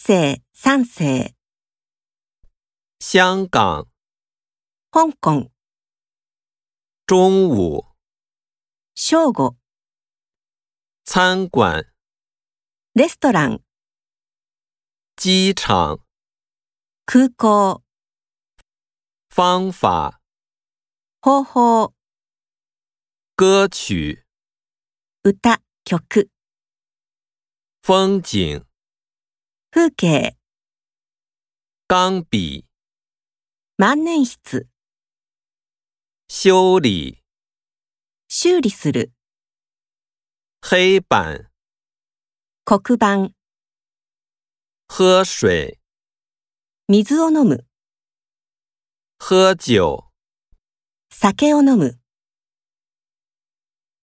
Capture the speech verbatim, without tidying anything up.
世、三世。 香港香港。 中午正午。 餐馆レストラン。 机场空港。 方法方法。 歌曲歌、曲。 风景風景。 钢笔万年筆。 修理修理する。 黑板黒板。 喝水水を飲む。 喝酒酒を飲む。